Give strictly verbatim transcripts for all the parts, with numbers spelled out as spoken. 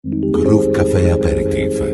Groove Café Aperitif.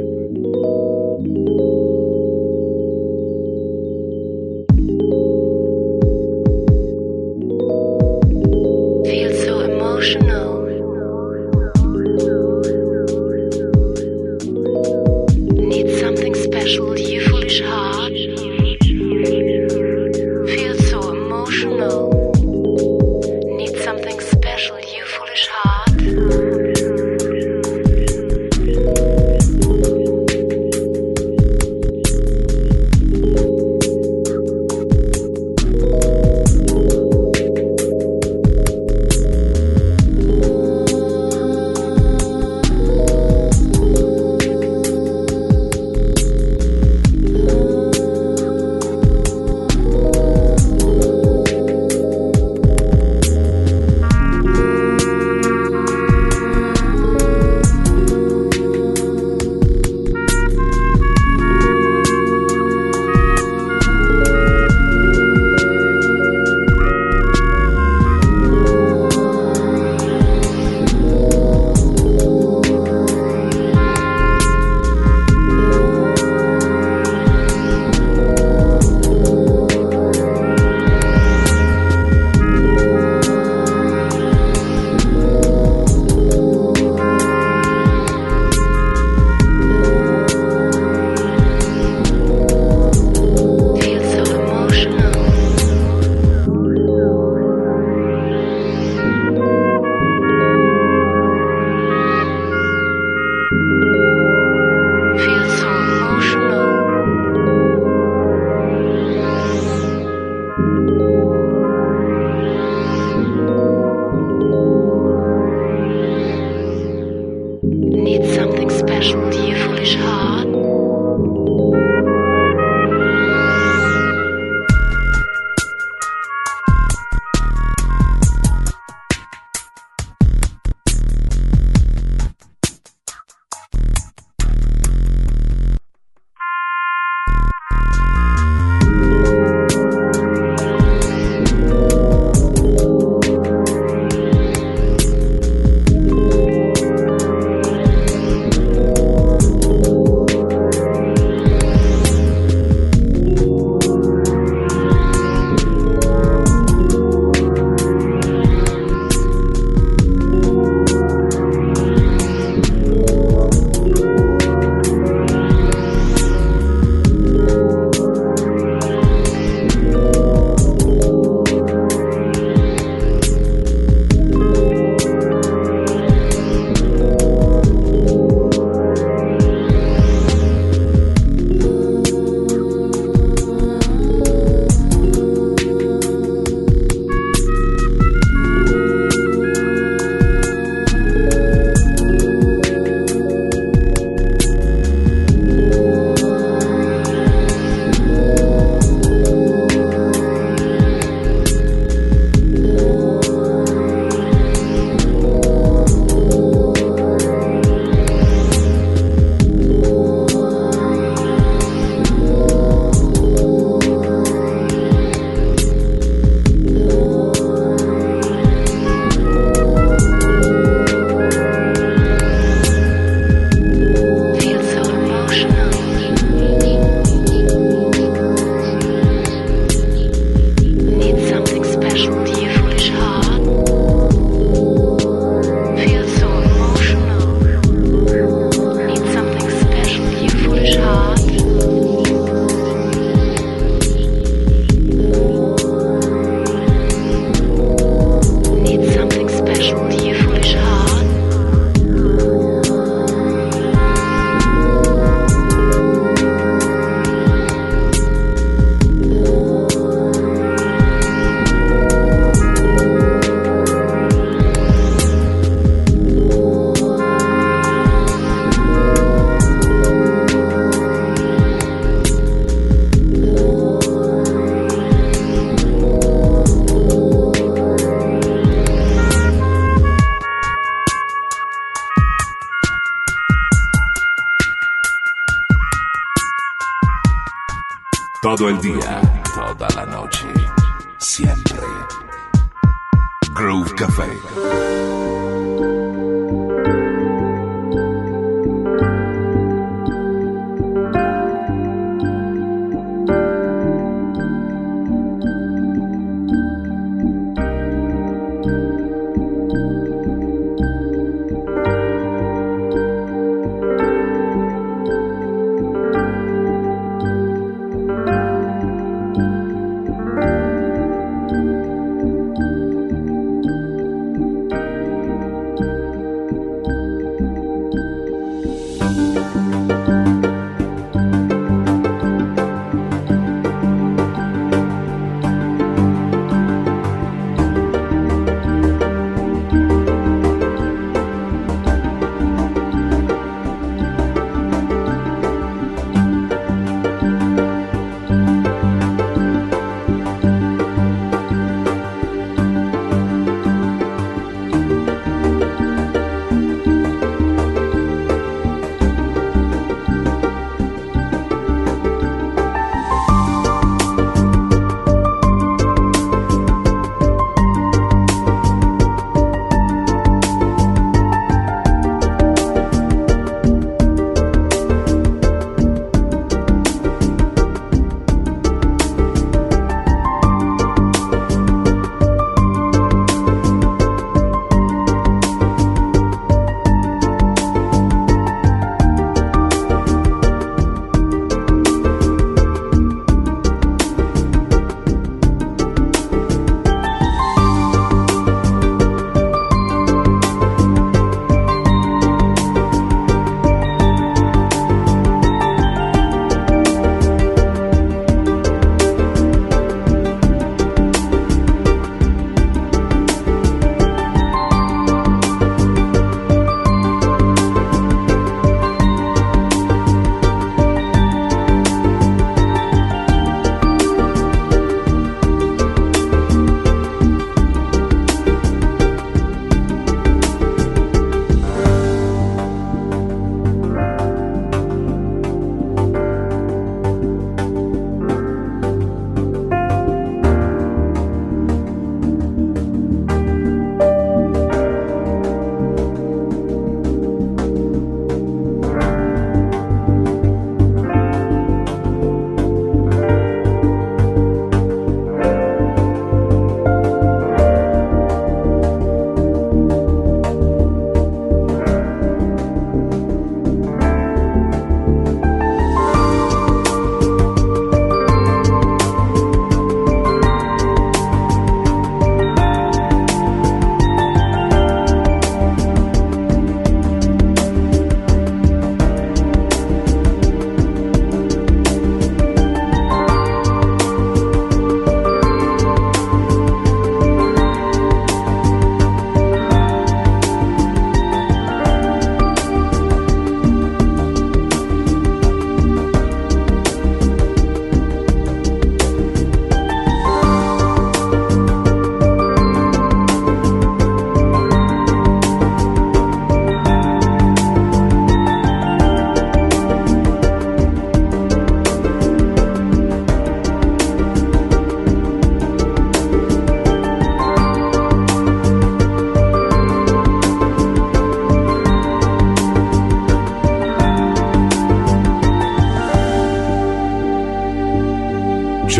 Todo el día, toda la noche, siempre. Groove Café.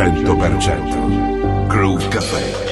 cento per cento Groove Café.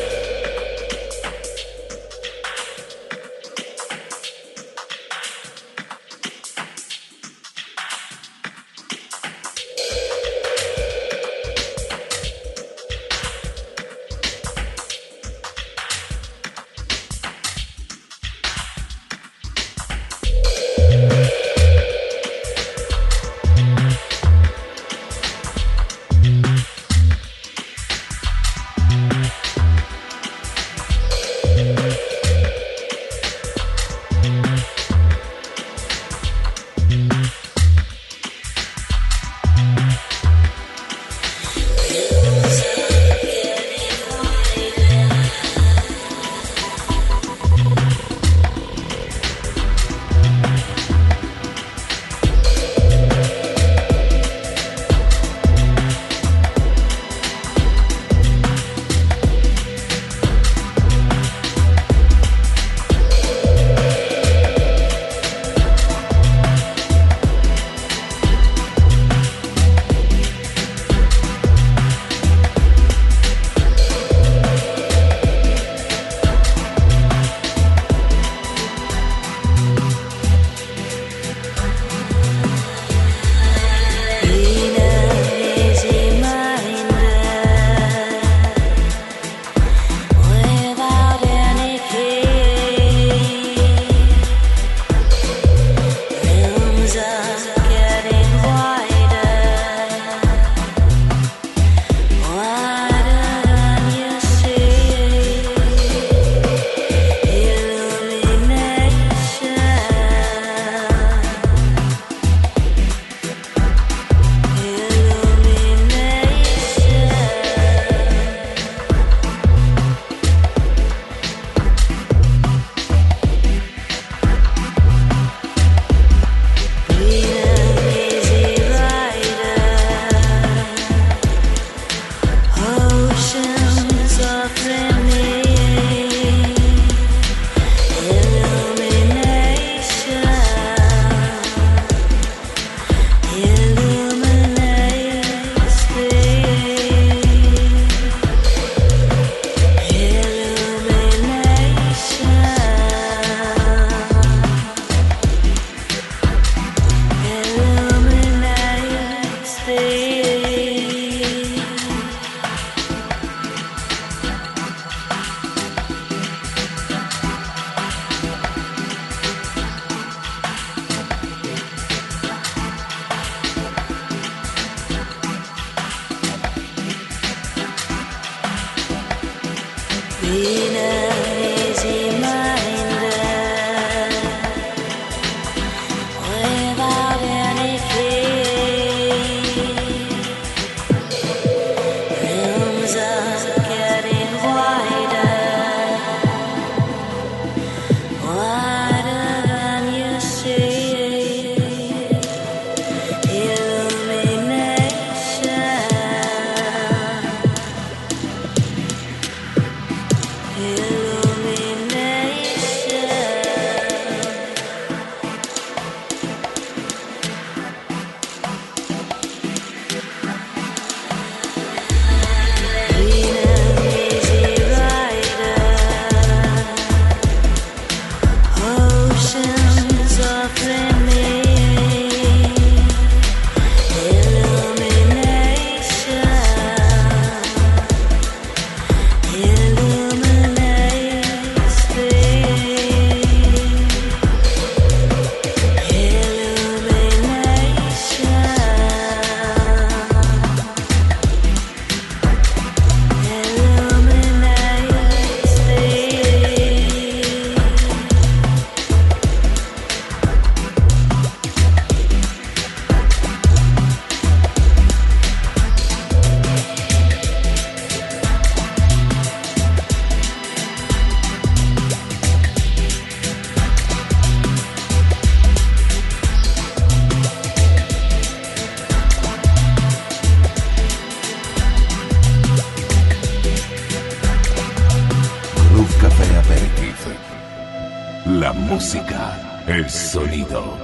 La música, el sonido.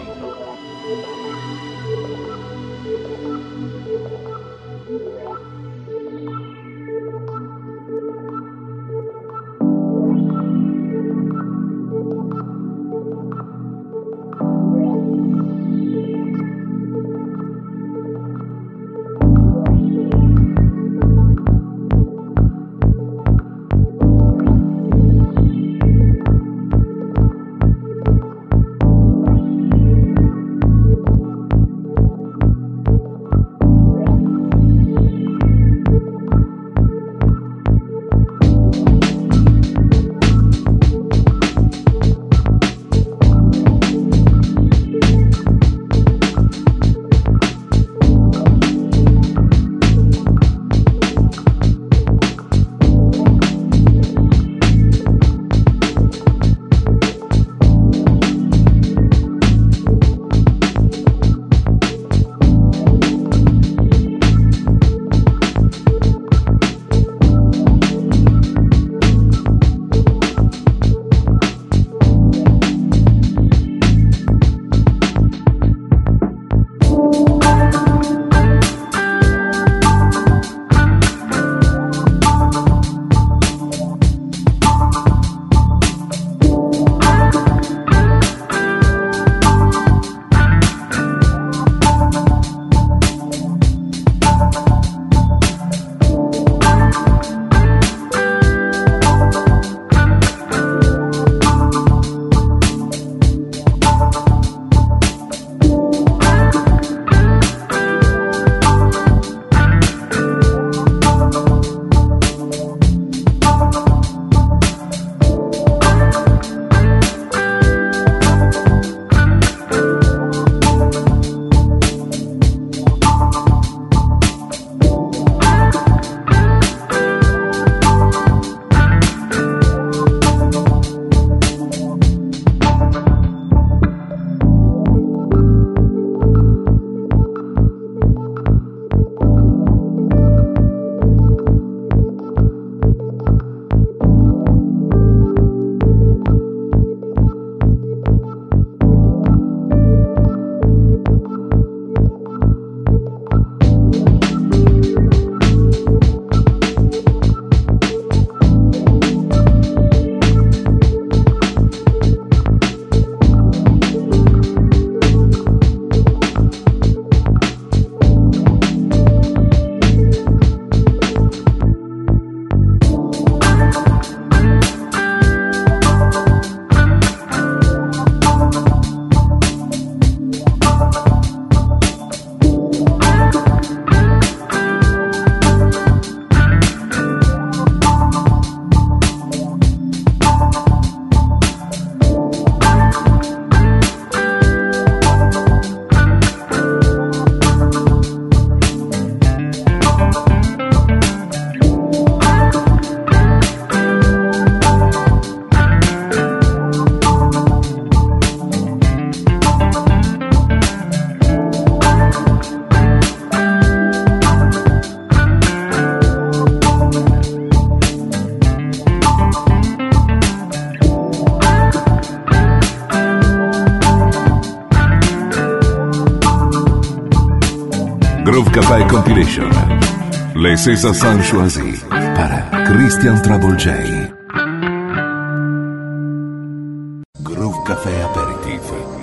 Groove Café Compilation. Les César San Choisi para Christian Trouble J. Groove Café Aperitif.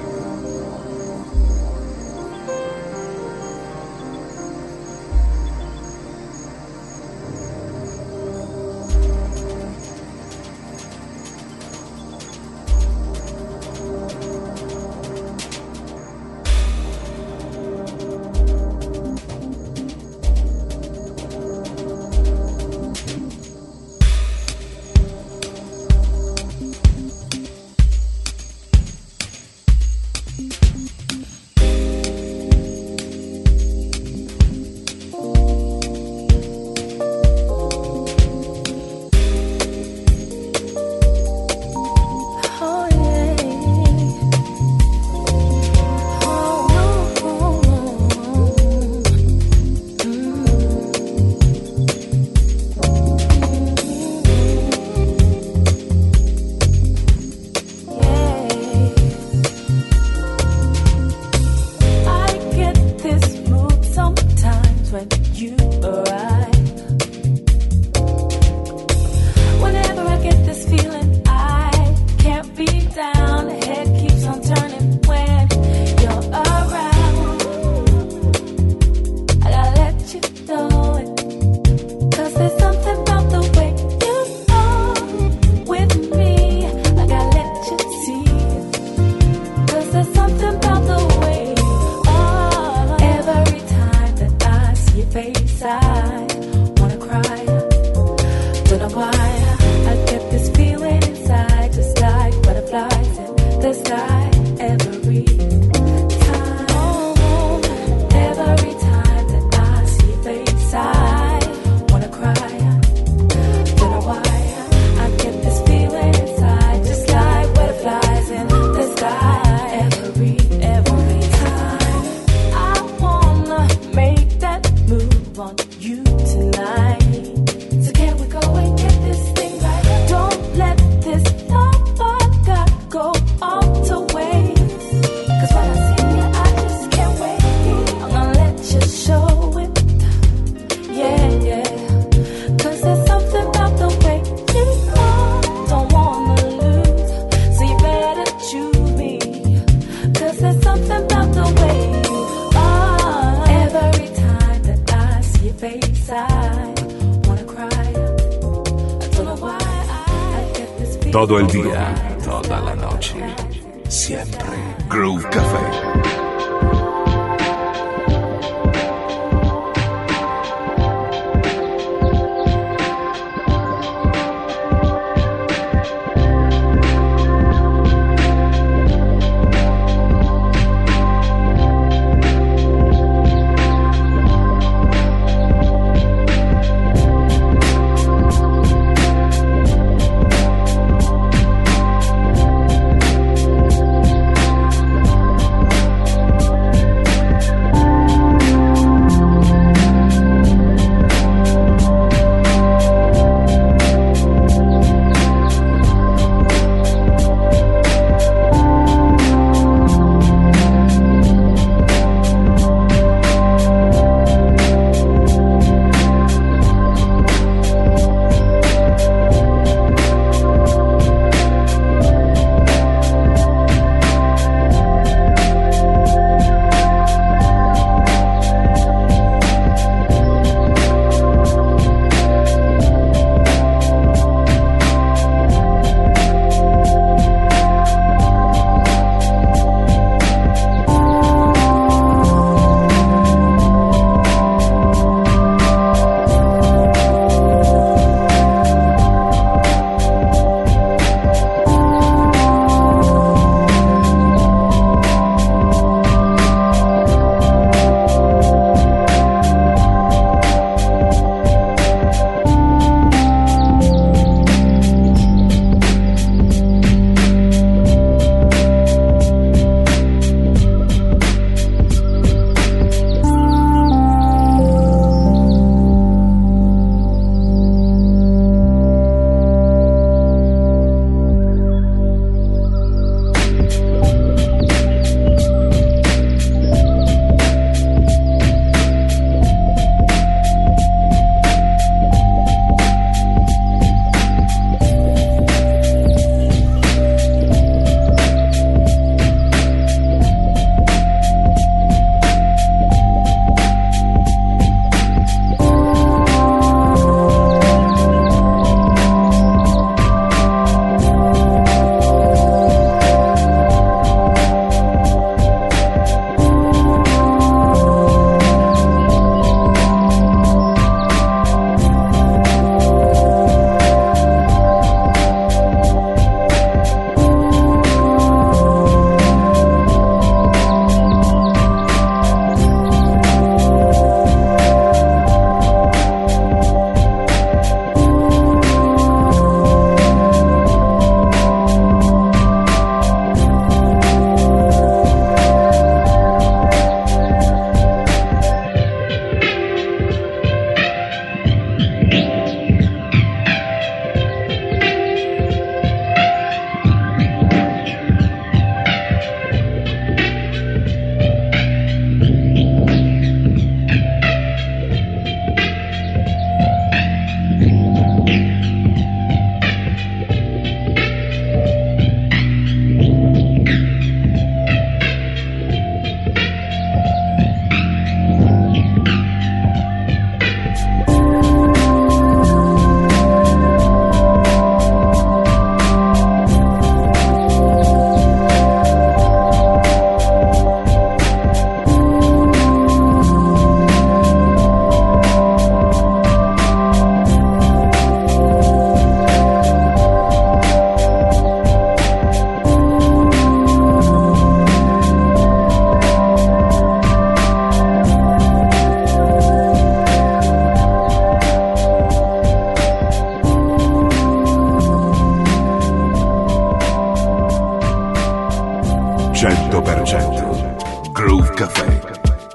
Todo el día, toda la noche, siempre. Groove Café. ascoltando Groove Café.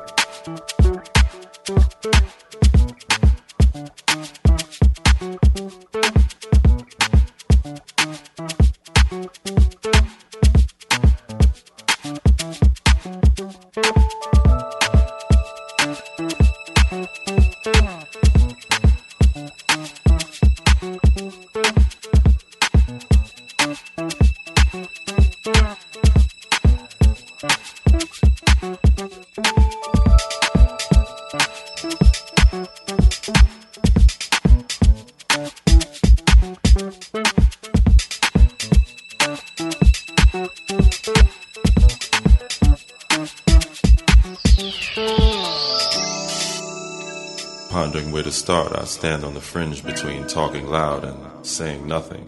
Pondering where to start, I stand on the fringe between talking loud and saying nothing.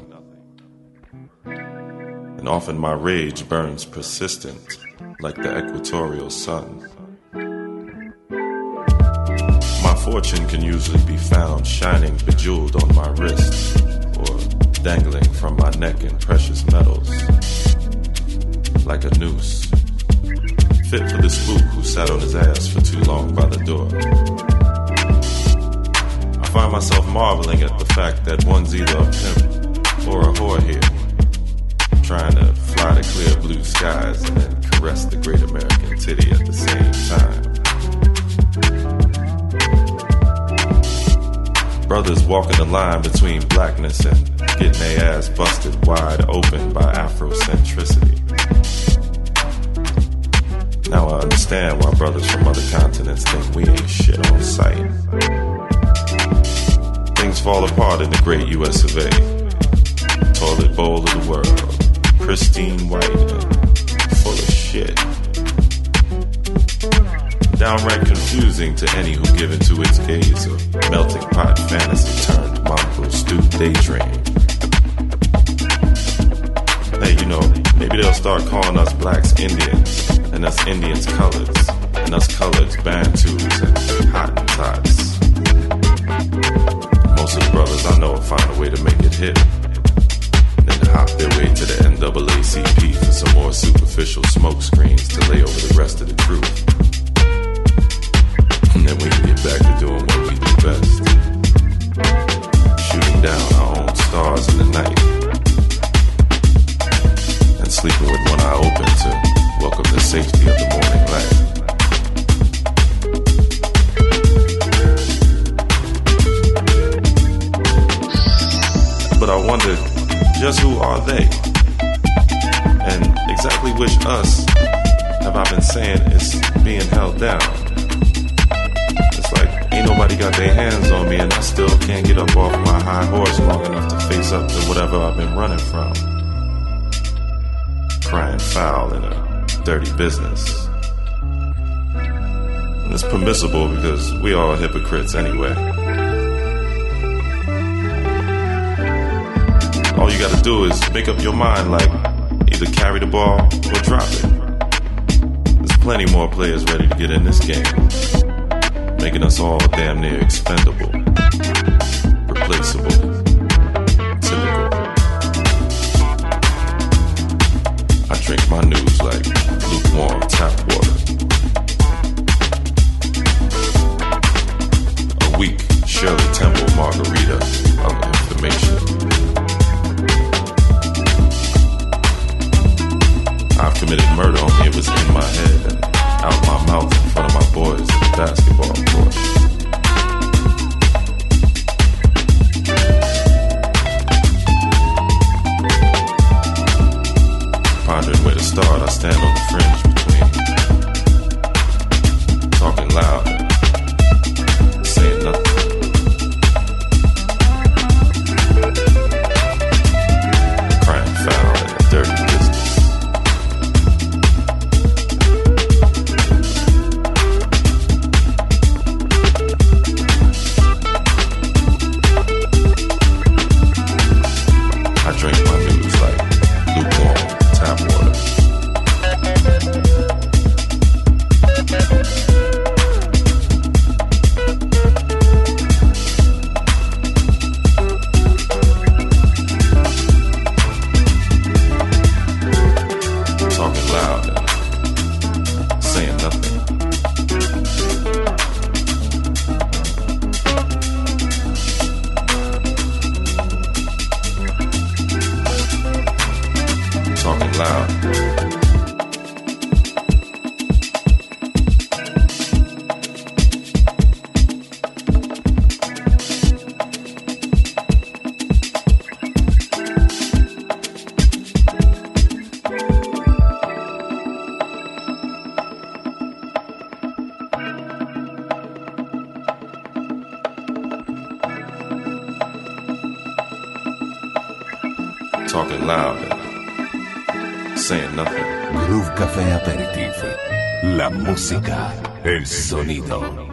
And often my rage burns persistent, like the equatorial sun. My fortune can usually be found shining bejeweled on my wrist, or dangling from my neck in precious metals, like a noose, fit for the spook who sat on his ass for too long by the door. I find myself marveling at the fact that one's either a pimp or a whore here, trying to fly to clear blue skies and then caress the great American titty at the same time. Brothers walking the line between blackness and getting their ass busted wide open by Afrocentricity. Now I understand why brothers from other continents think we ain't shit on sight. Things fall apart in the great U S of A. Toilet bowl of the world, pristine white and full of shit. Downright confusing to any who give into its gaze of melting pot fantasy turned mongrel stew daydream. Hey, you know, maybe they'll start calling us blacks Indians, and us Indians coloreds, and us coloreds Bantus and Hottentots. Most of the brothers I know will find a way to make it hit, and then hop their way to the N double A C P for some more superficial smoke screens to lay over the rest of the truth. And then we can get back to doing what we do best, shooting down our own stars in the night, and sleeping with one eye open to welcome the safety of the morning light. But I wonder, just who are they? And exactly which us have I been saying is being held down? It's like, ain't nobody got their hands on me and I still can't get up off my high horse long enough to face up to whatever I've been running from. Crying foul in a dirty business. And it's permissible because we all hypocrites anyway. All you gotta do is make up your mind, like, either carry the ball or drop it. There's plenty more players ready to get in this game, making us all damn near expendable, replaceable, typical. I drink my news like lukewarm tap water. A weak Shirley Temple margarita of information. I've committed murder, only it was in my head and out my mouth in front of my boys at the basketball court. Pondering where to start, I stand on the fringe between talking loud and saying nothing. Groove Café Aperitif. La música, el sonido.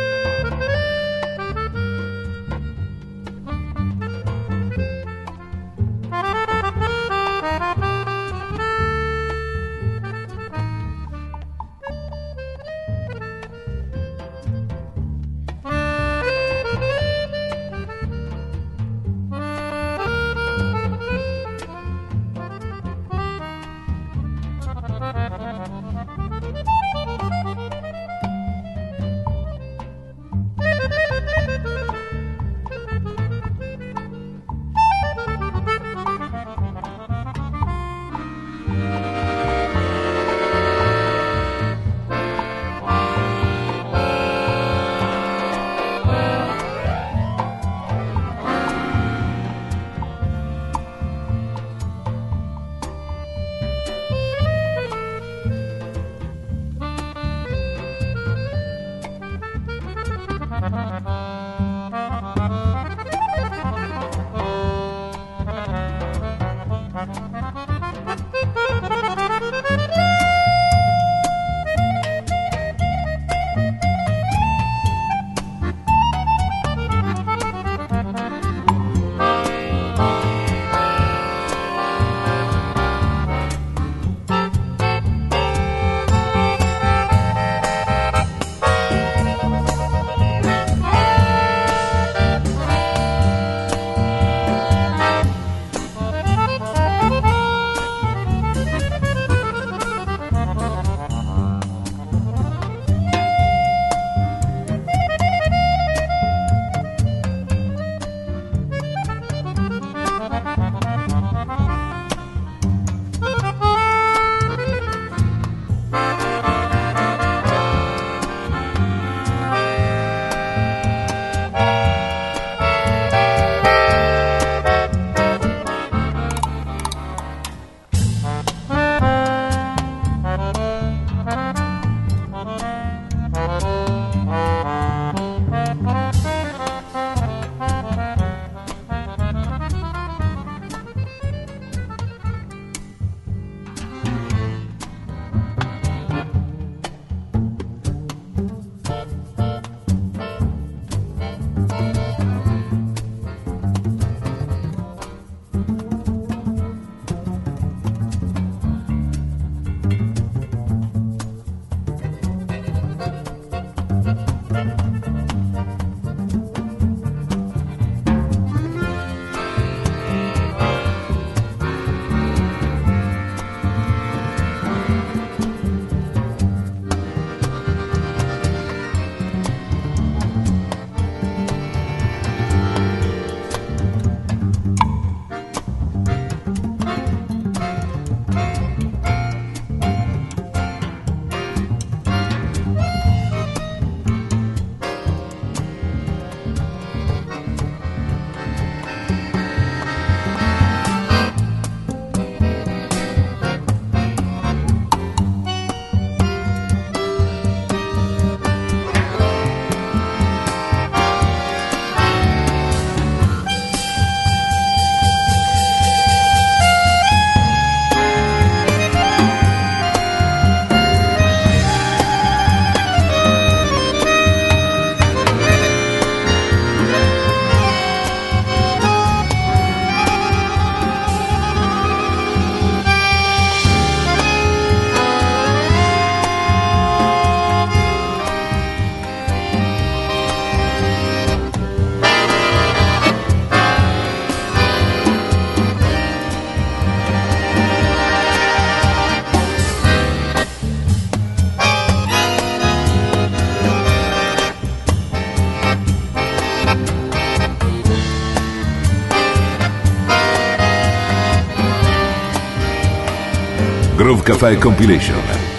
Groove Café Compilation.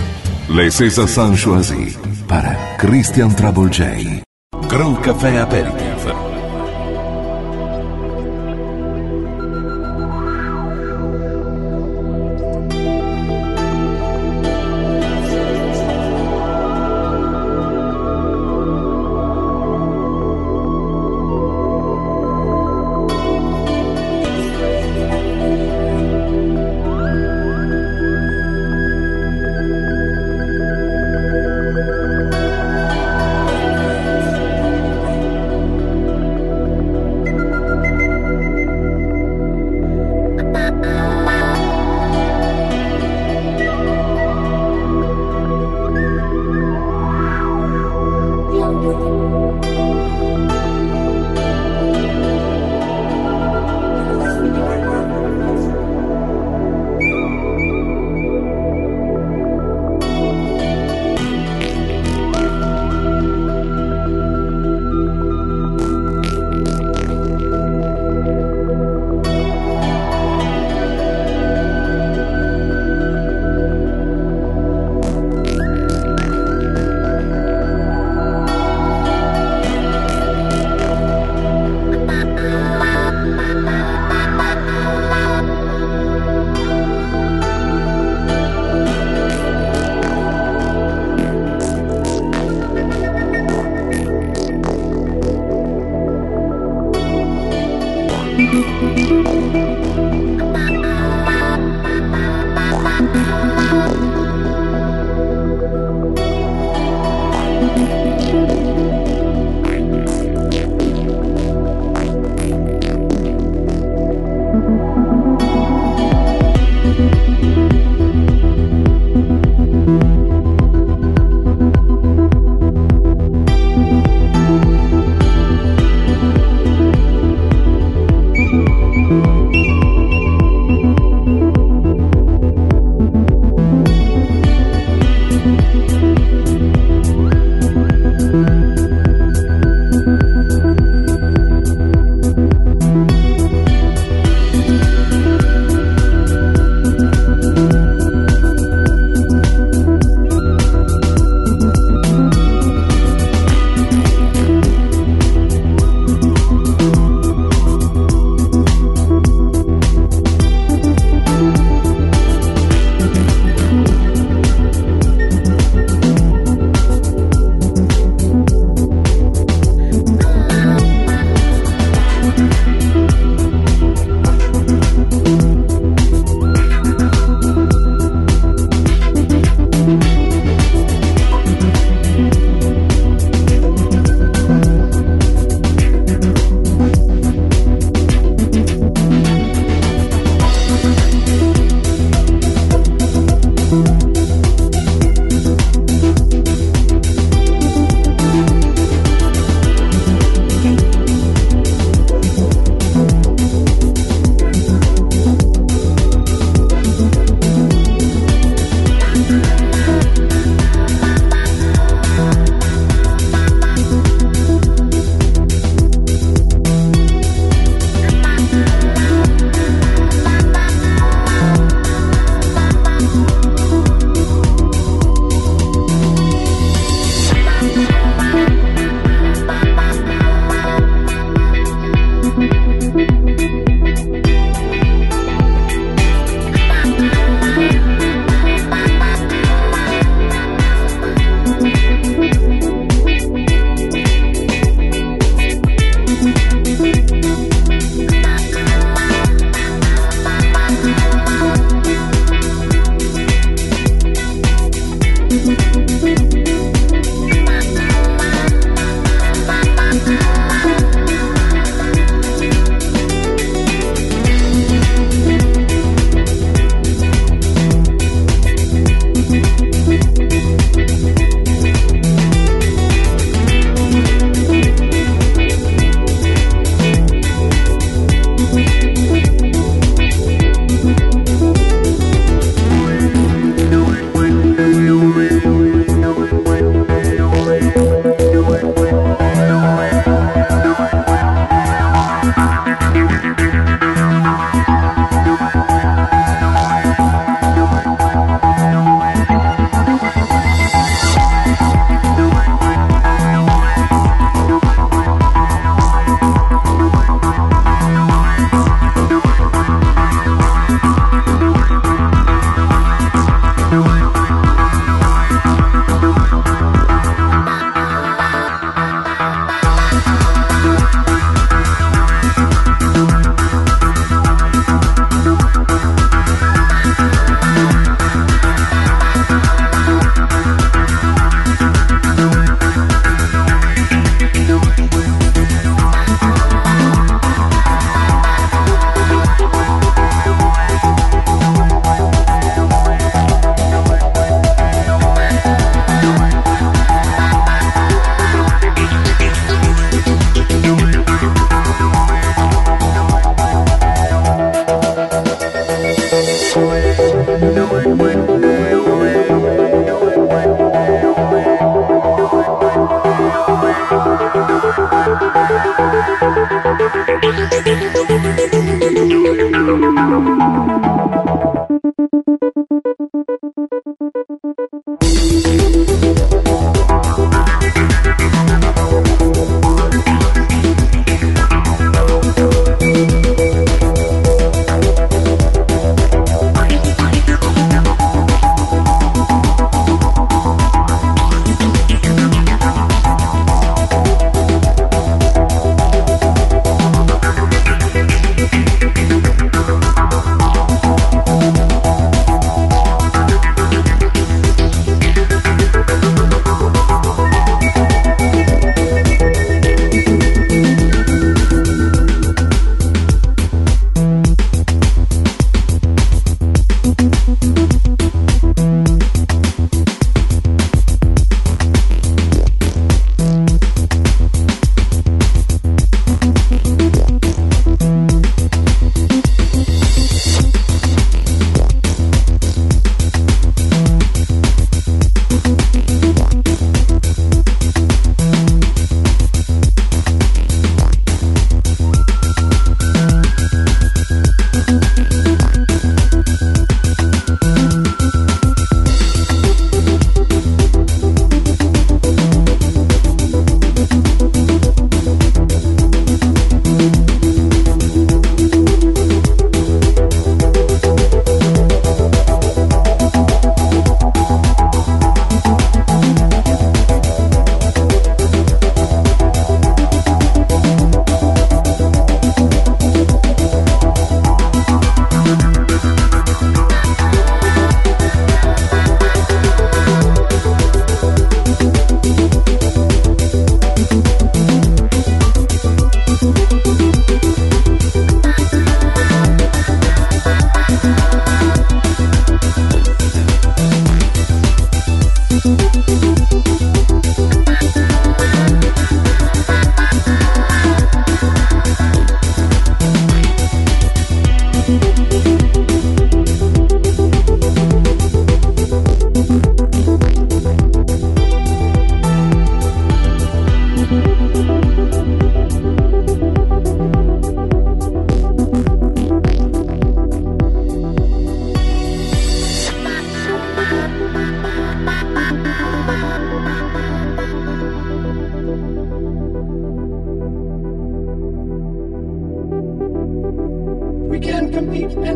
Les César San Choisi para Christian Trouble J. Groove Café Aperitif.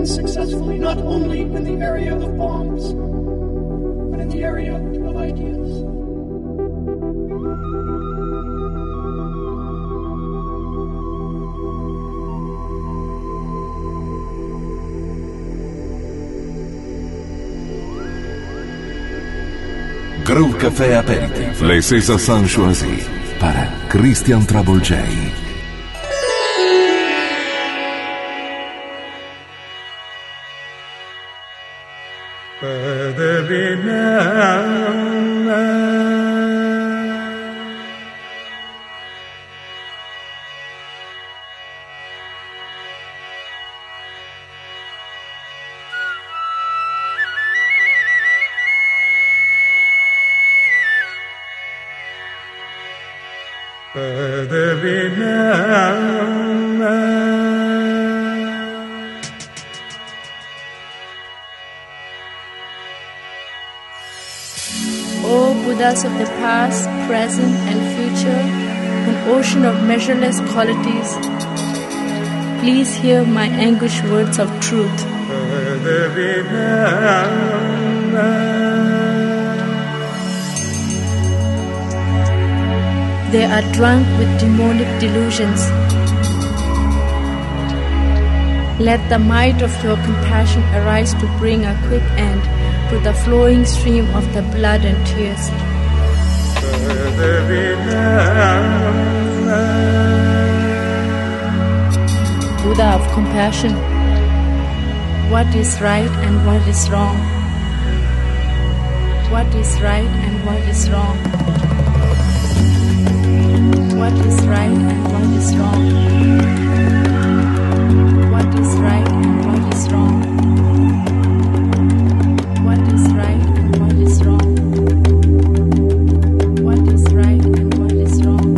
advance successfully, not only in the area of bombs, but in the area of ideas. Groove Café Aperitif. Les César sont choisis para Christian Trouble J. O Buddhas of the past, present and future, an ocean of measureless qualities, please hear my anguished words of truth. They are drunk with demonic delusions. Let the might of your compassion arise to bring a quick end to the flowing stream of the blood and tears. Buddha of compassion, what is right and what is wrong? What is right and what is wrong? What is right and what is wrong? What is right and what is wrong? What is right and what is wrong? What is right and what is wrong?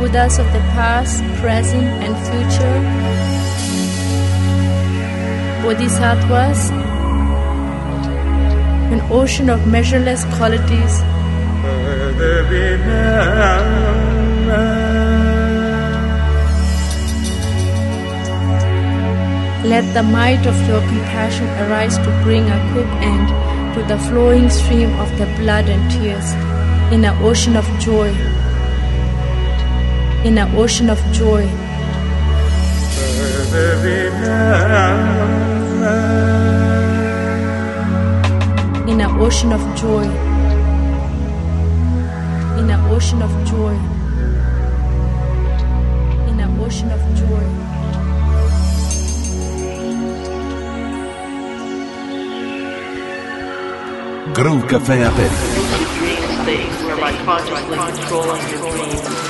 Buddhas of the past, present, and future, Bodhisattvas, an ocean of measureless qualities. Let the might of your compassion arise to bring a quick end to the flowing stream of the blood and tears in an ocean of joy. In an ocean of joy. In an ocean of joy. In an ocean of joy. In an ocean of joy. Groove Café aperto. Dream states whereby consciously controlling your dreams.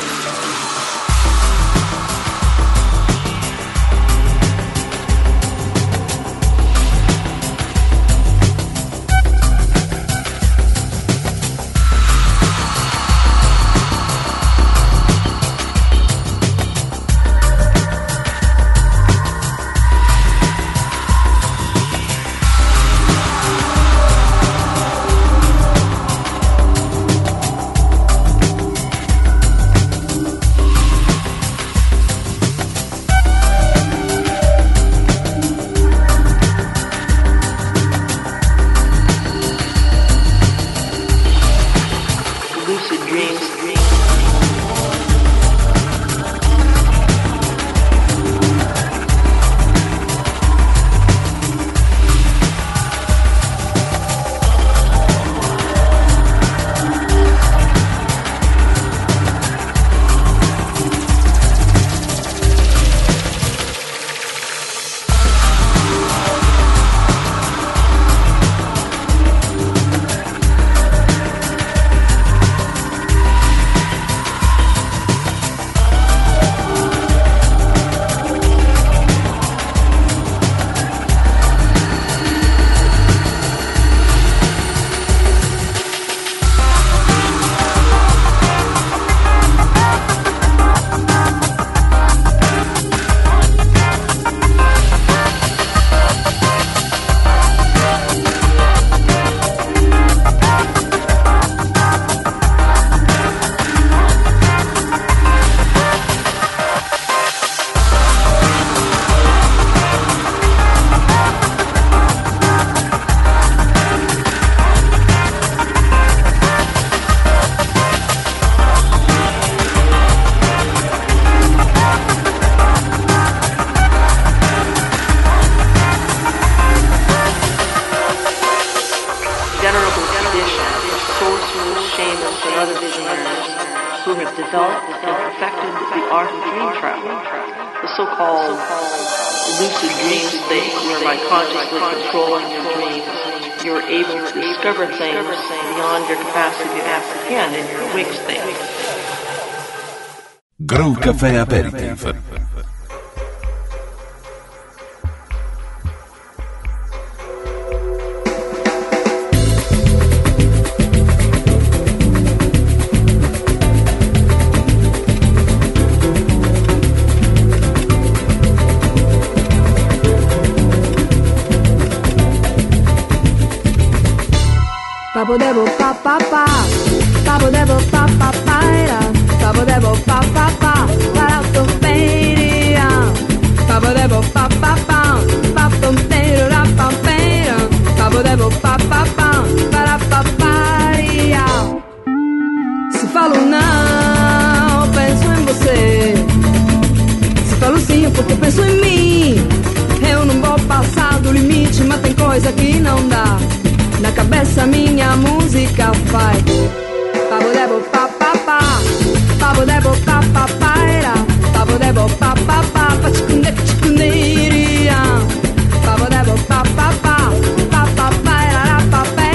Groove Café Aperitif. Papo debo pa pa pa, papo debo pa pa pa era, papo debo pa pa pa, para autoperia, papo debo pa pa pa, papo pero la pa pero, papo debo pa pa pa, para paparia. Se falo não, penso em você. Se falo sim, é porque penso em mim. Eu não vou passar do limite, mas tem coisa que não dá. Na cabeça minha música faz. Papo debo pa pa pa, papo debo pa pa pa era, papo debo pa pa pa, pa chicunde chicunderia, papo debo pa pa pa, pa pa pa era pa pa.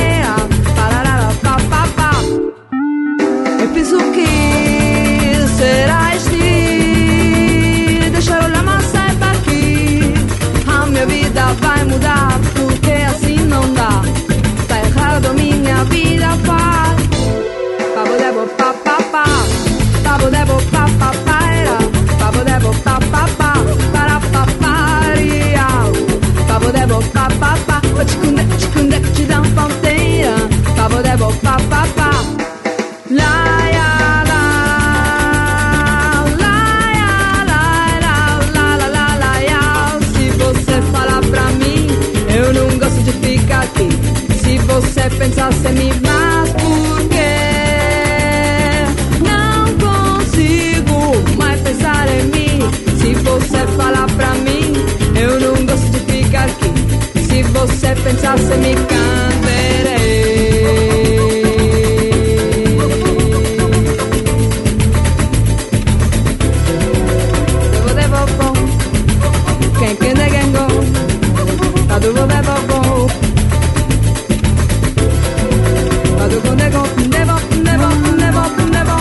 never, never, never, never, never.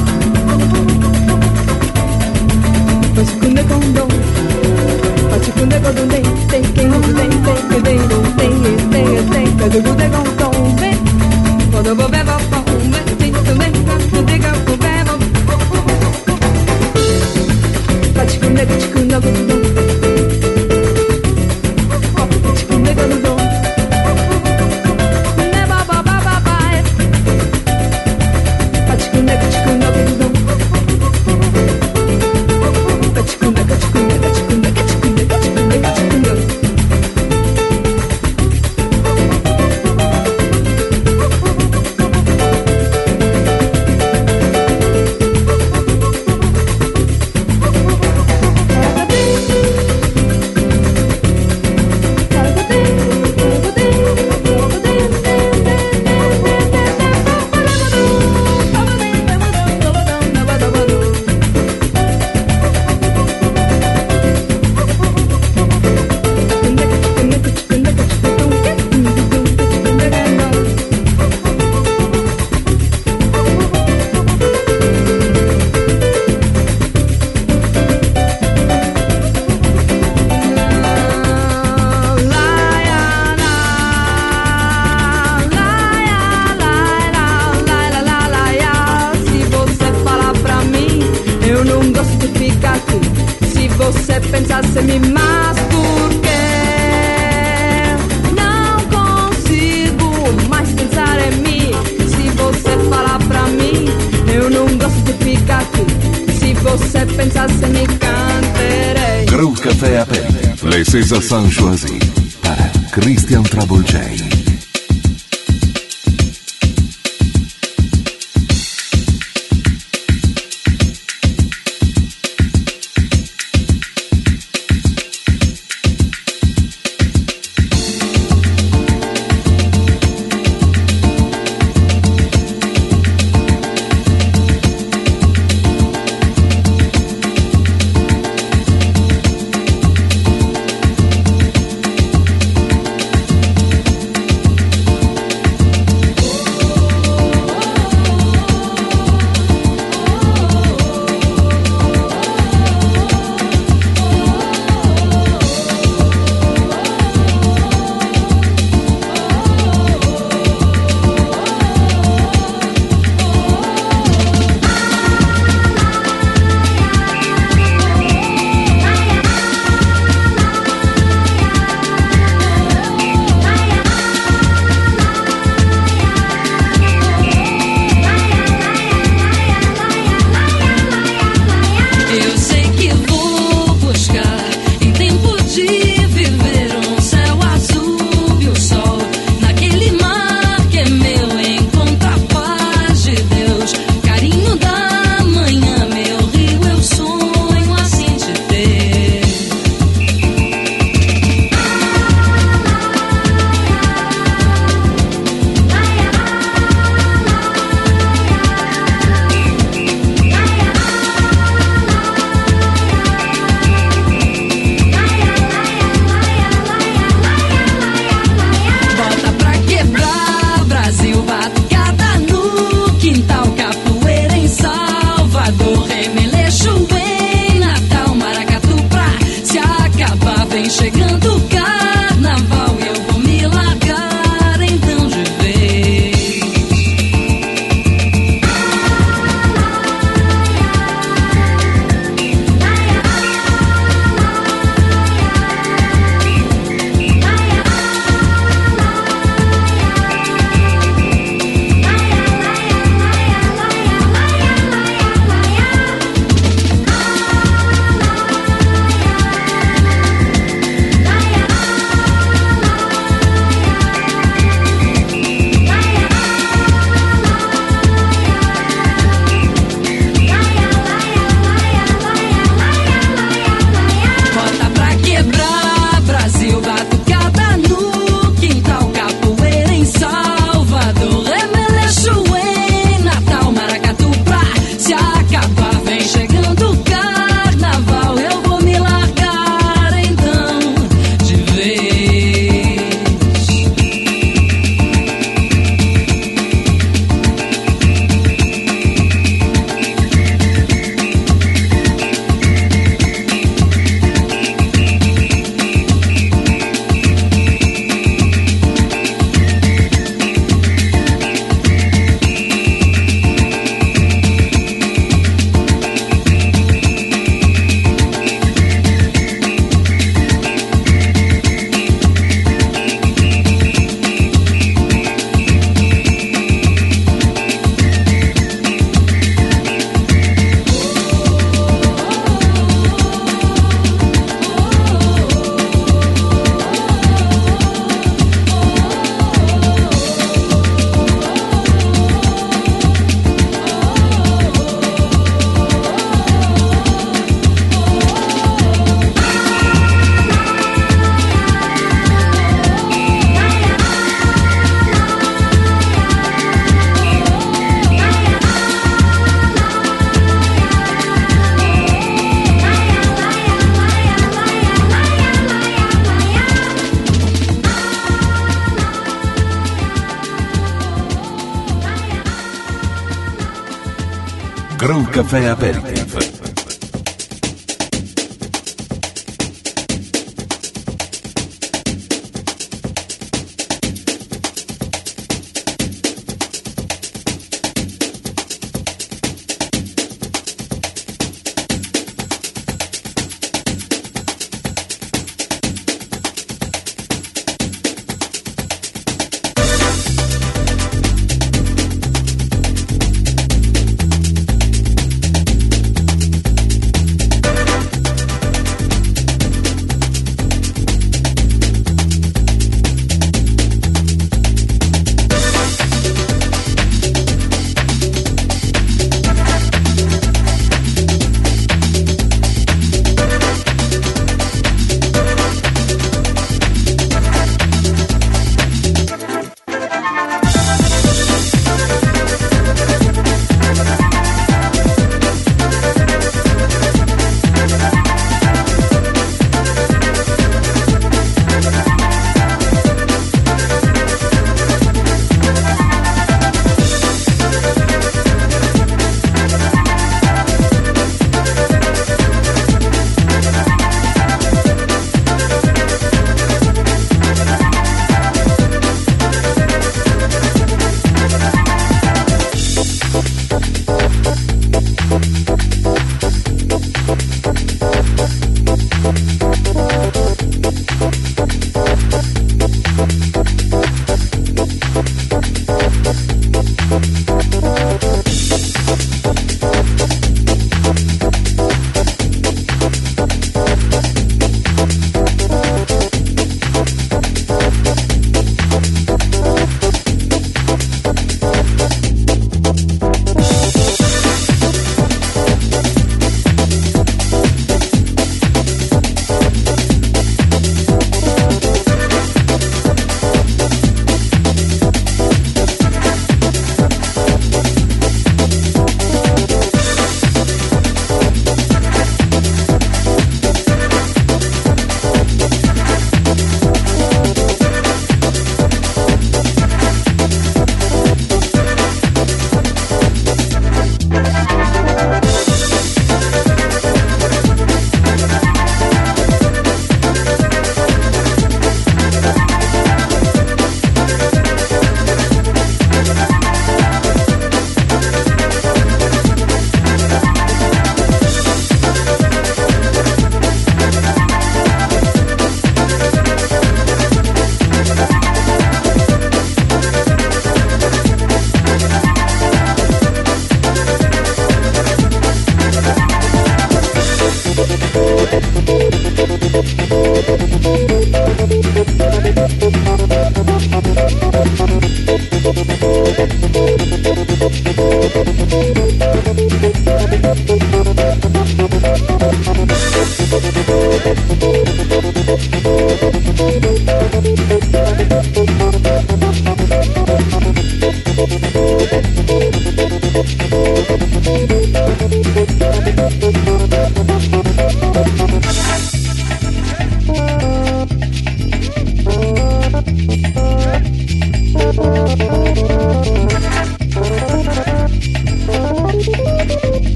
Pachikunde kondo, pachikunde kondo de, de, de, de, de, de, de, de, de, de, de, kondo be, kodo bo be bo bo be, de, de, de, de, go be bo. Pachikunde pachikunde kondo, pachikunde kondo. Never ba ba ba ba. Pachikunde pachikunde kondo. Pachikunde pachikunde pachikunde pachikunde pachikunde pachikunde. Pensasse-me mais porque não consigo mais pensar em mim. Se você falar pra mim, eu não gosto de ficar aqui. Se você pensasse me canterei. Groove Café Aperitif, les César Sanchoisi para Christian Travolgei. Groove Café Aperitif.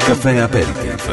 Caffè Aperitif.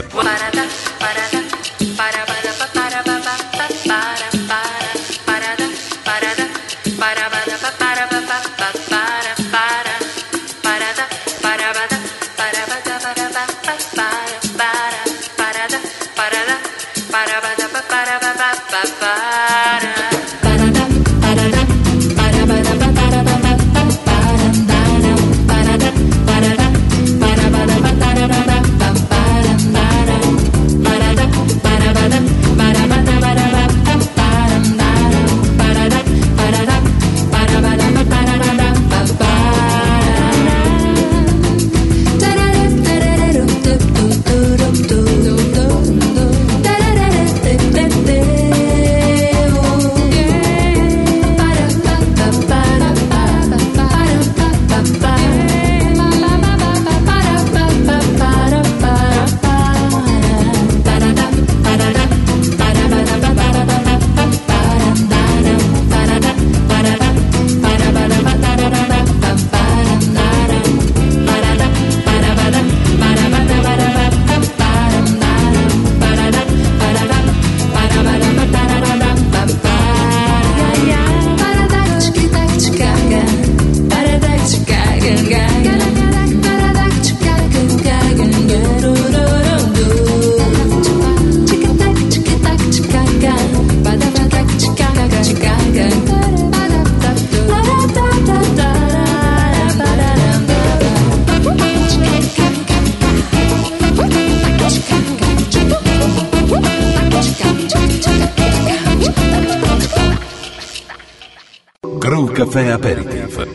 Groove Caffè Aperitif.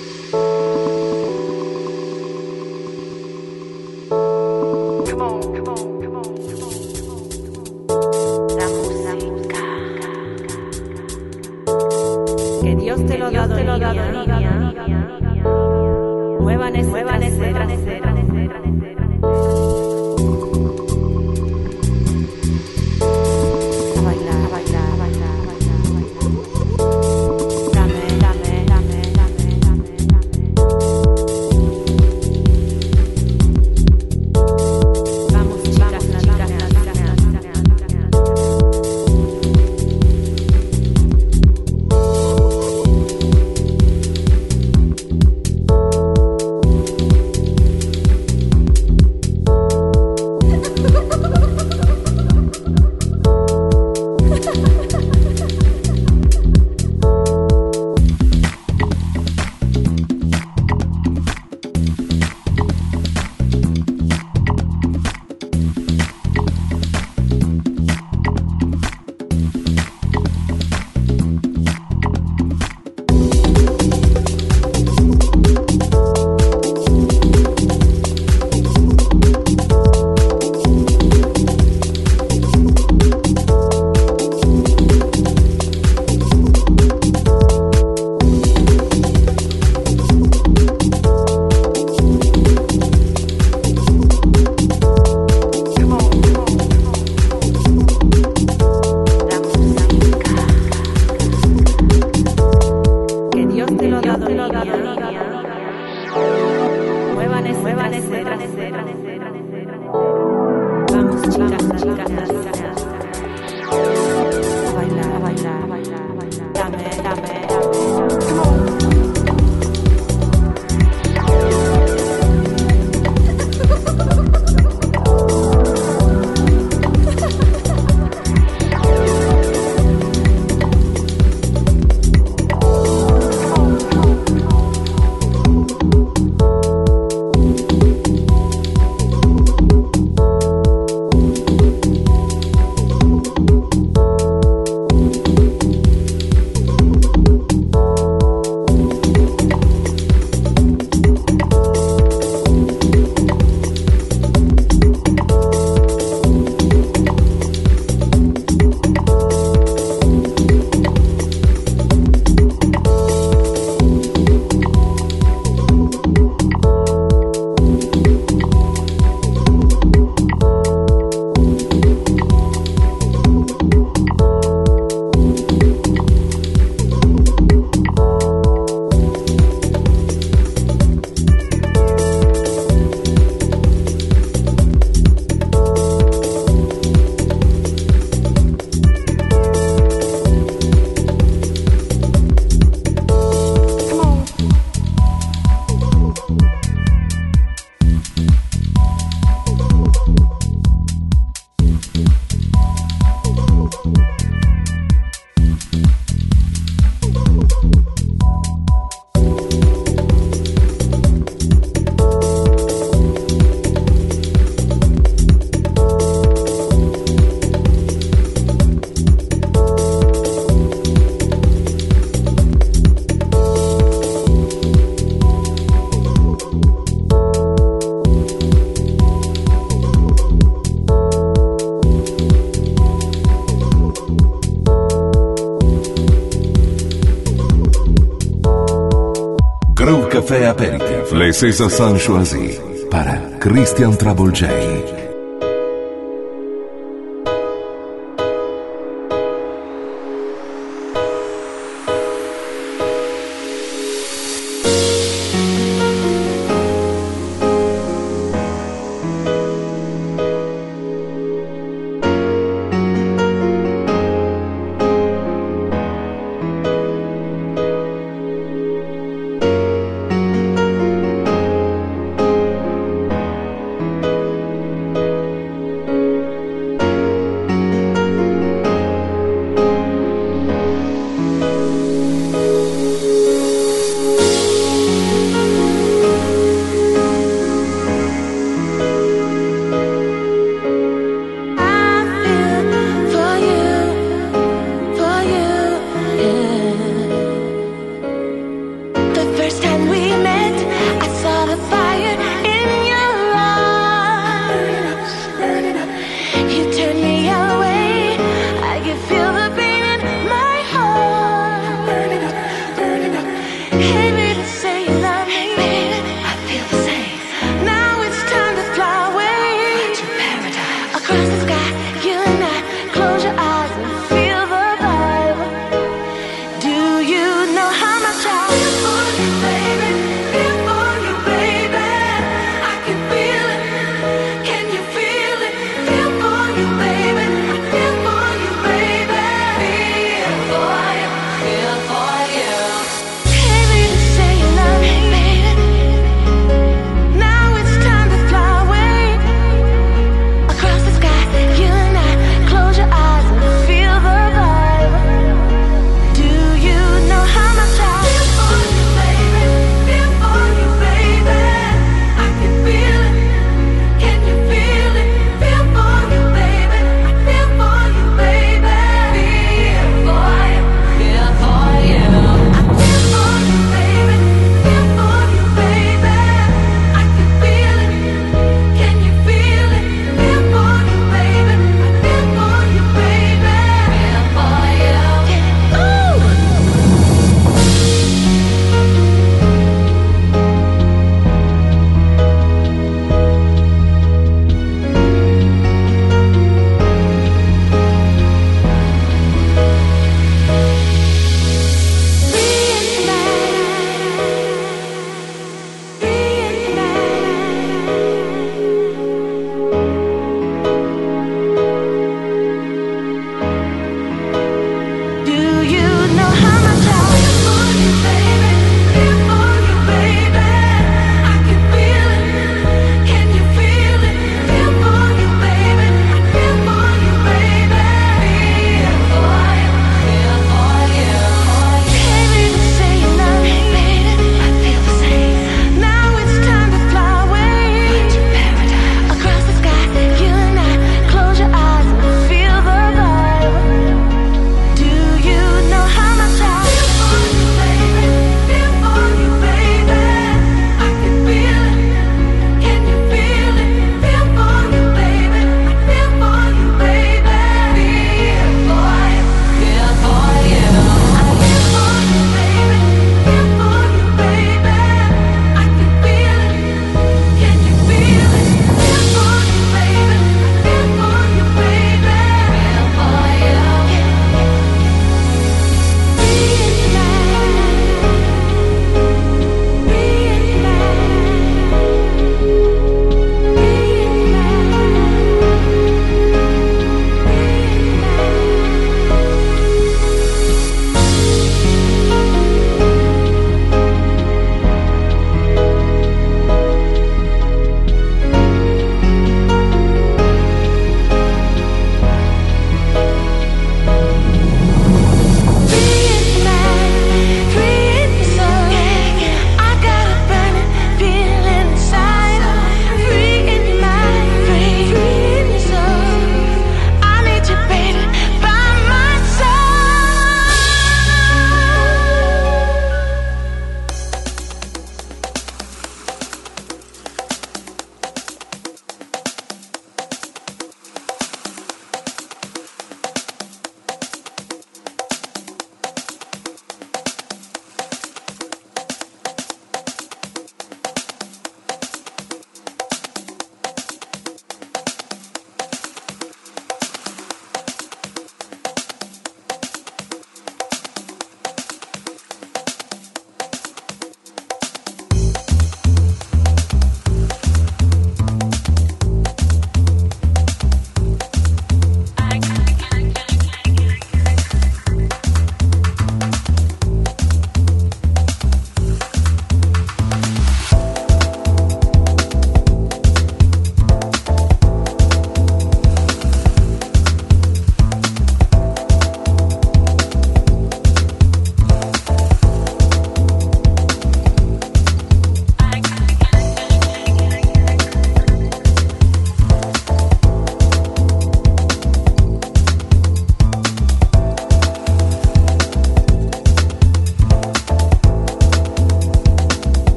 Que Dios te lo da, te lo da, niña. Muevan ese trasero. A bailar, a bailar, a bailar, a bailar. Dame, dame, dame, dame, dame, dame. Vamos, chicas, chicas, chicas, a bailar, a bailar, a bailar. Dame, dame, dame. café apéritif. Les César San Choisi para Christian Trouble J. Thank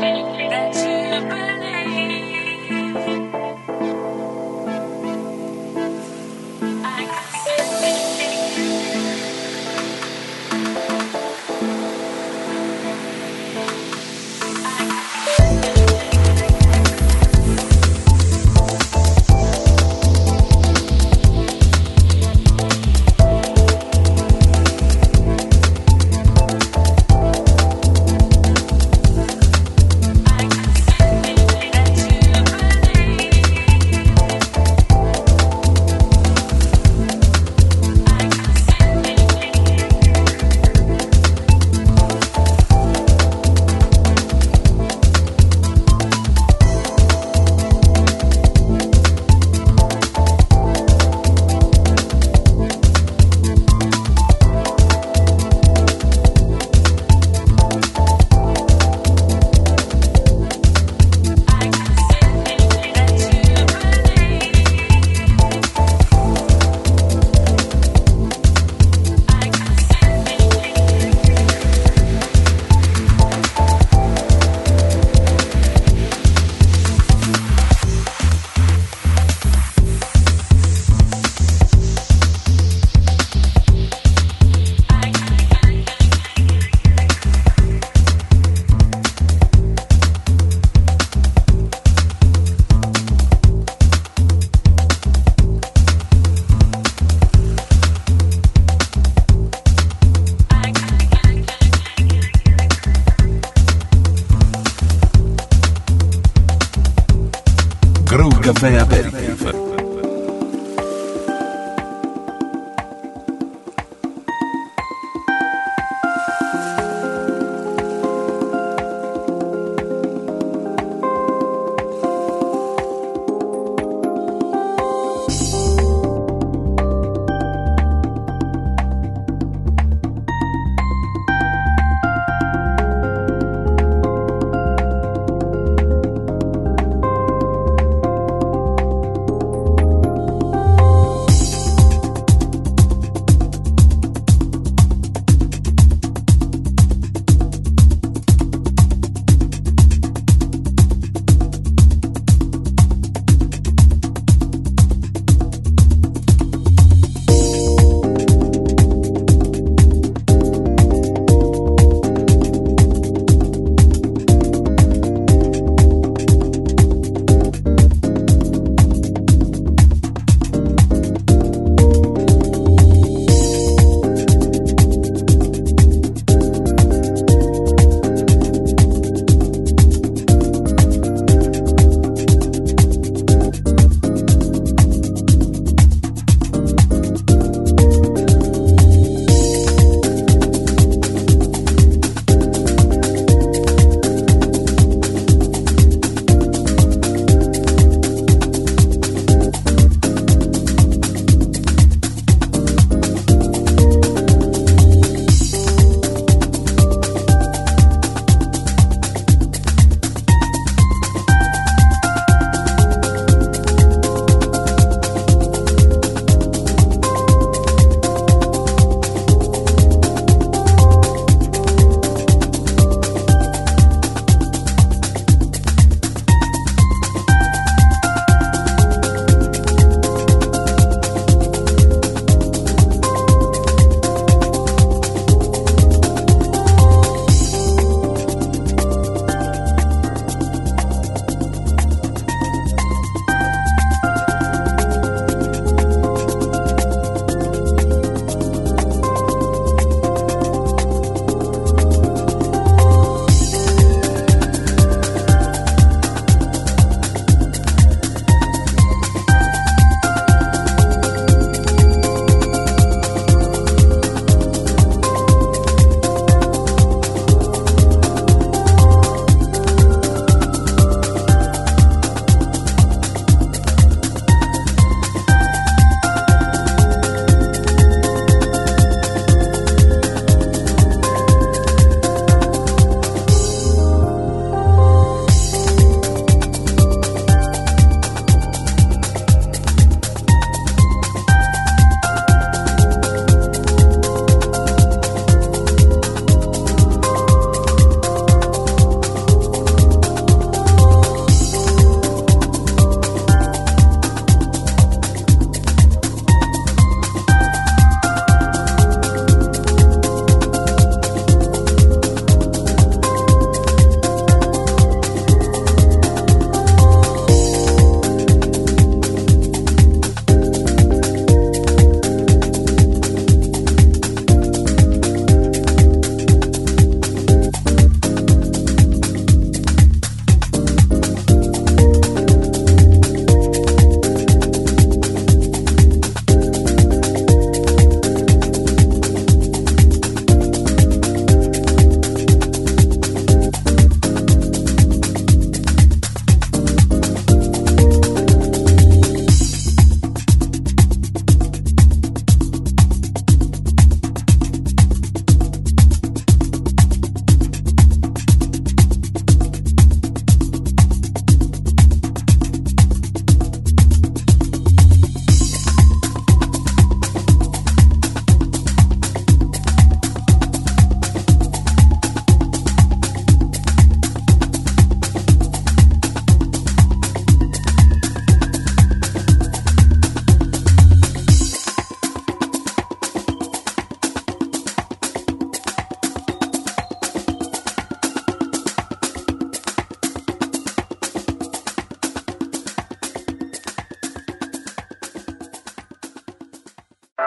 Groove Café Aperitif.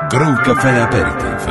Groove Café Aperitif.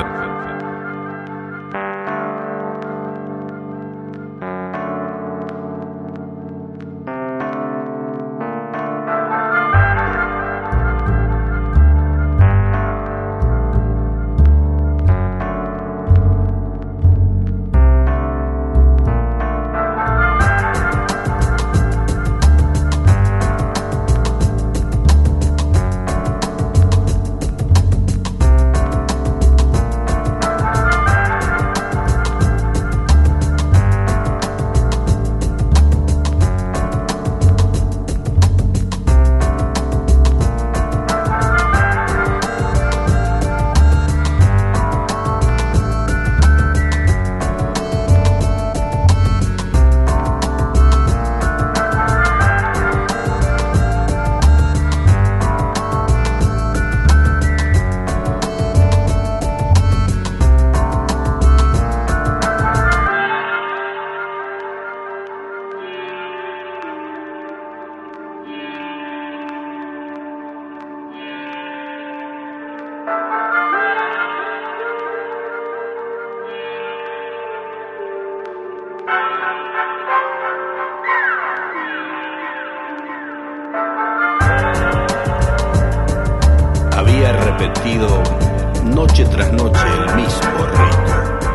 Repetido noche tras noche el mismo rito,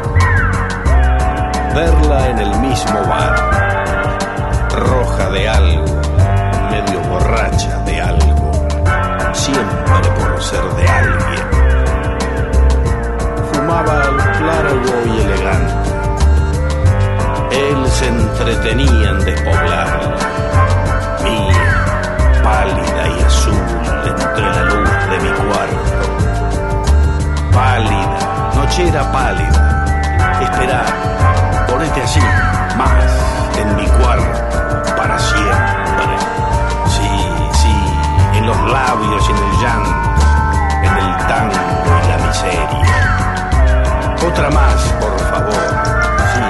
verla en el mismo bar, roja de algo, medio borracha de algo, siempre por ser de alguien. Fumaba largo y elegante, él se entretenía en despoblarla, mía, pálida y azul entre la luz de mi cuarto. Pálida, nochera pálida, esperar, ponete así, más, en mi cuarto, para siempre. Sí, sí, en los labios y en el llanto, en el tango y la miseria. Otra más, por favor, sí,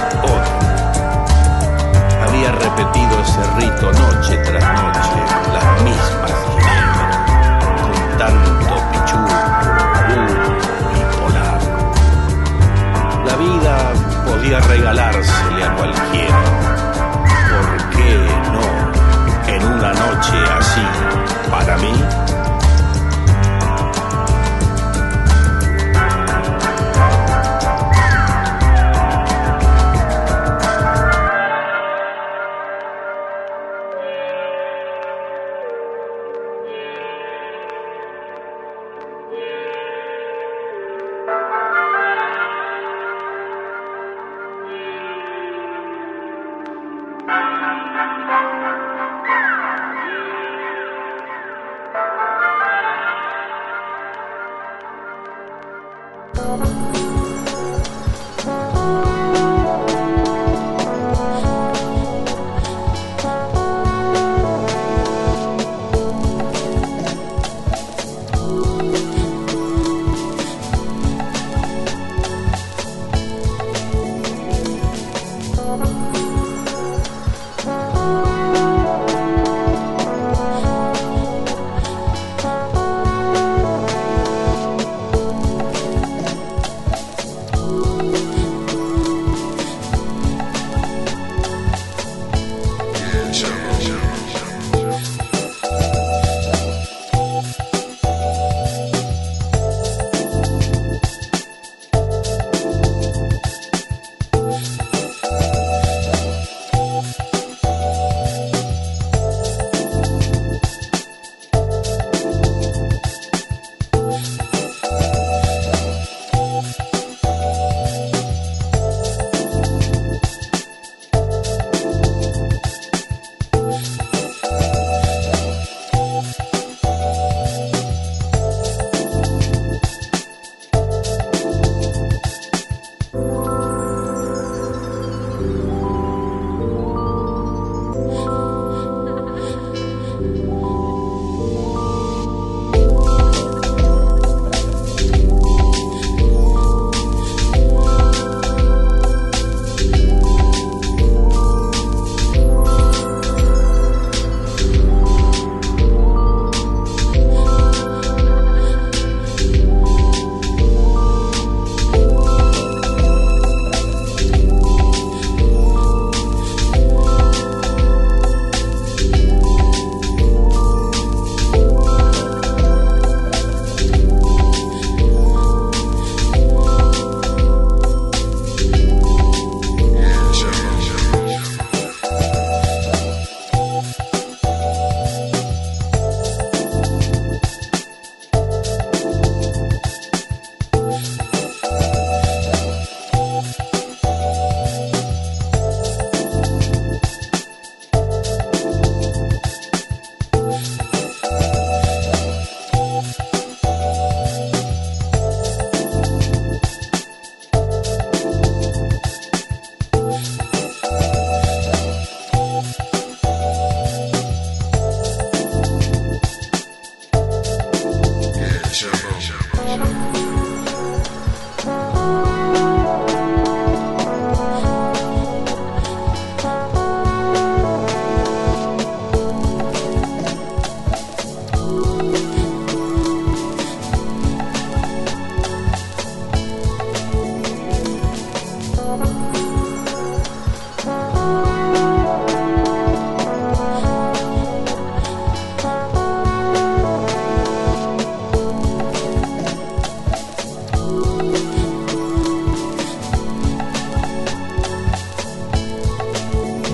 otra. Había repetido ese rito noche tras noche, las mismas ginebras, con tanto pichuco, y polaco. La vida podía regalársele a cualquiera. ¿Por qué no en una noche así para mí?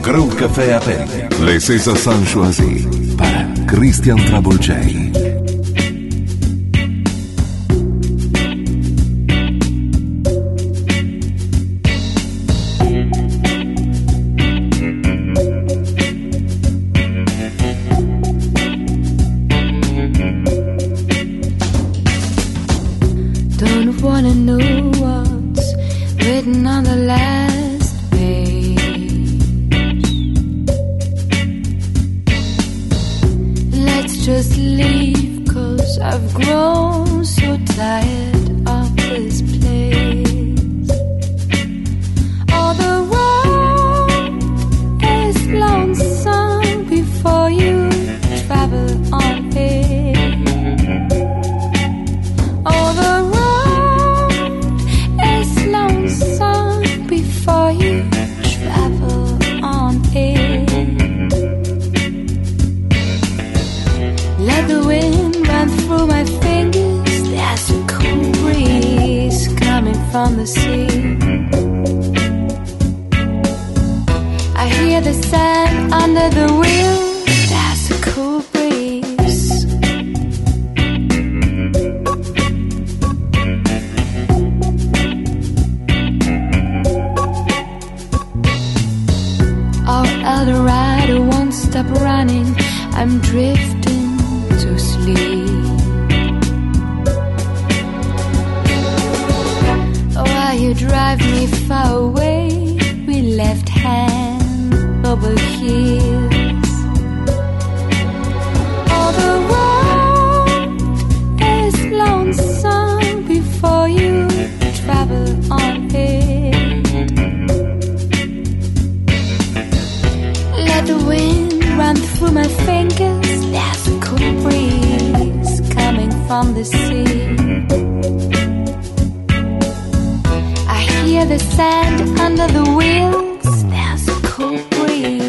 Groove Café Aperitif. Les César San Choisi para Christian Trouble J. Don't wanna know what's written on the last page. Let's just leave, 'cause I've grown so tired of this place. All the road is lonesome before you travel on it. All the before you travel on it. Let the wind run through my fingers. There's a cool breeze coming from the sea. I hear the sand under the wheels. There's a cool breeze. The rider won't stop running. I'm drifting to sleep. While you drive me far away, we left hand over heels. All the road is lonesome before you travel on it. Let the wind run through my fingers. There's a cool breeze coming from the sea. I hear the sand under the wheels. There's a cool breeze.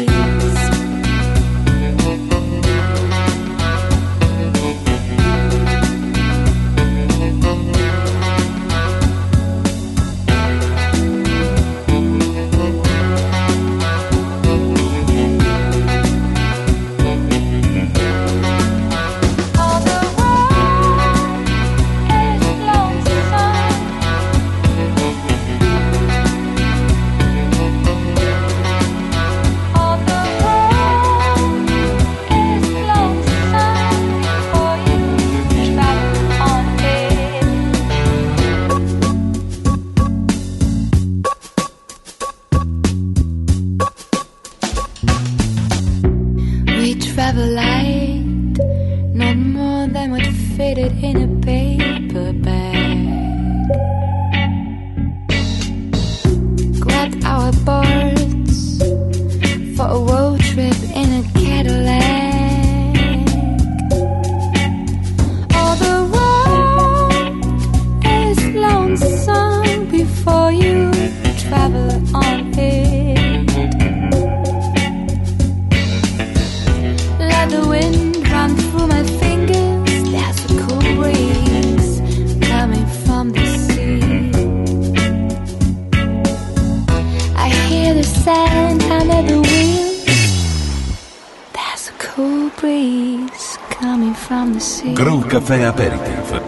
Travel light, not more than what fitted in a paper bag. Grabbed our boards for a road trip in a Cadillac. All the road is lonesome before you travel on it. The wind run through my fingers. There's a cool breeze coming from the sea. I hear the sand under the wheels. There's a cool breeze coming from the sea. Groove Café Aperitif.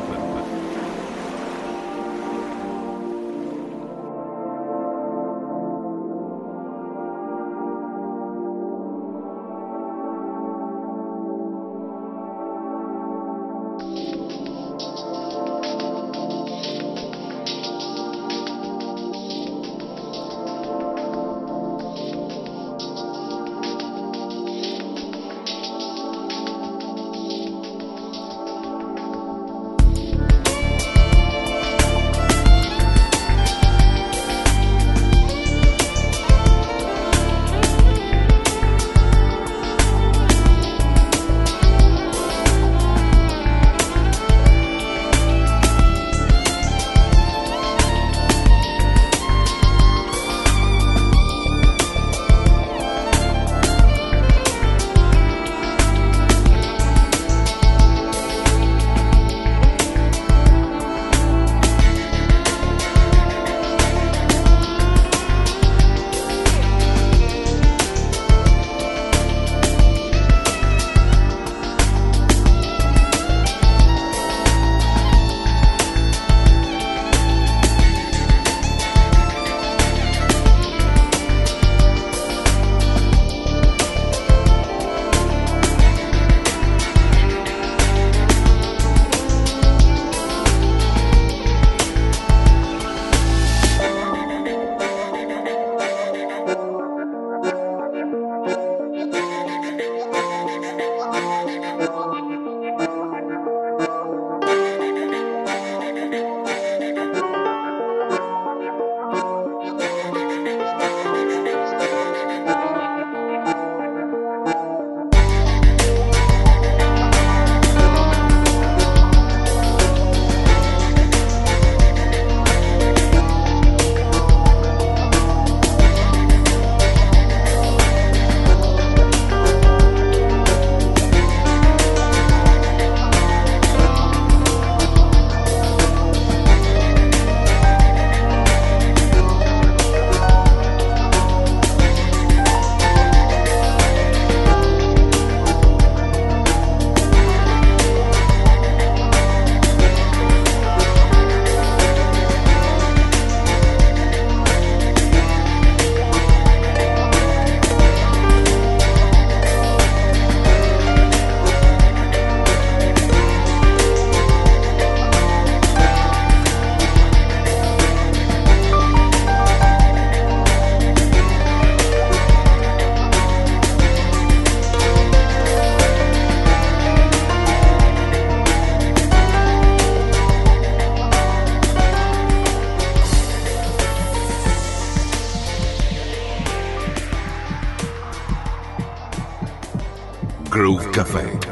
Groove Café.